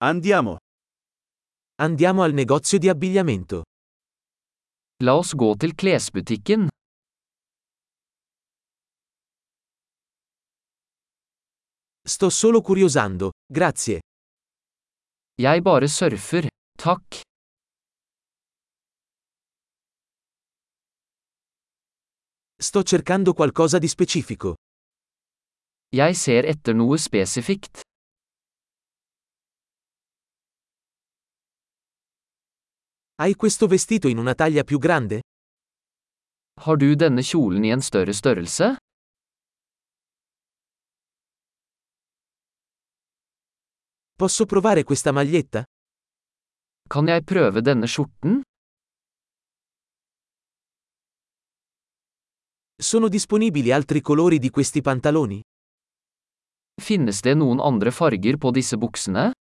Andiamo. Andiamo al negozio di abbigliamento. La oss gå til klesbutikken. Sto solo curiosando, grazie. Jeg bare surfer, takk. Sto cercando qualcosa di specifico. Jeg ser etter noe spesifikt. Hai questo vestito in una taglia più grande? Har du denne kjolen i en større størrelse? Posso provare questa maglietta? Kan jeg prøve denne skjorten? Sono disponibili altri colori di questi pantaloni? Finnes det noen andre farger på disse buksene?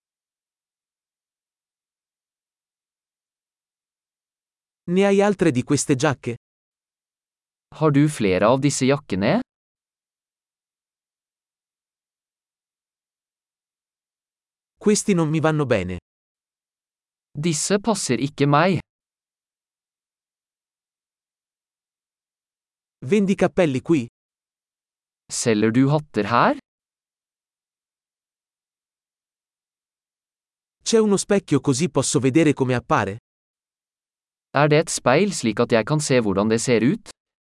Ne hai altre di queste giacche? Har du flere av disse jakkene? Questi non mi vanno bene. Disse passer ikke meg. Vendi cappelli qui? Selger du hatter her? C'è uno specchio così posso vedere come appare? Er det et speil slik at jeg kan se hvordan det ser ut?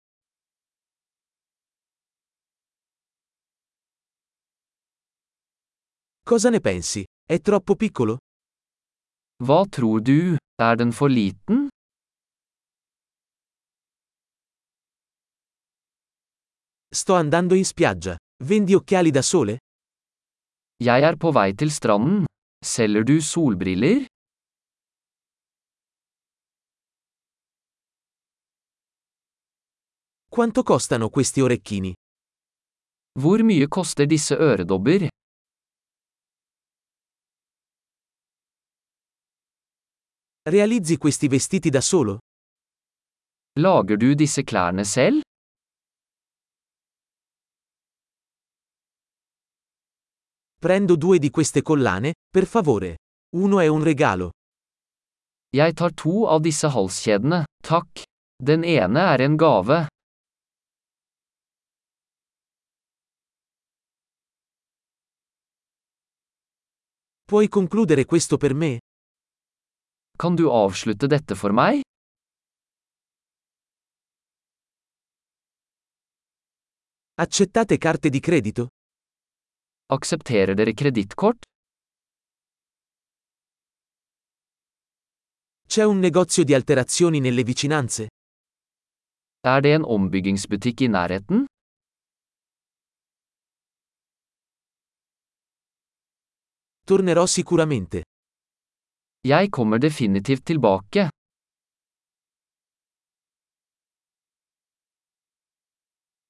Cosa ne pensi? È troppo piccolo? Hva tror du, er den for liten? Sto andando in spiaggia. Vendi occhiali da sole? Jeg er på vei til stranden. Selger du solbriller? Quanto costano questi orecchini? Hvor mye koster disse øredobber? Realizzi questi vestiti da solo? Lager du disse klærne selv? Prendo 2 di queste collane, per favore. Uno è un regalo. Jeg tar 2 av disse halskjedene, takk. Den ene er en gave. Puoi concludere questo per me? Kan du avslutte dette for meg? Accettate carte di credito? Aksepterer dere kredittkort? C'è un negozio di alterazioni nelle vicinanze? Er det en ombyggingsbutikk i nærheten? Tornerò sicuramente. Jeg kommer definitivt tilbake.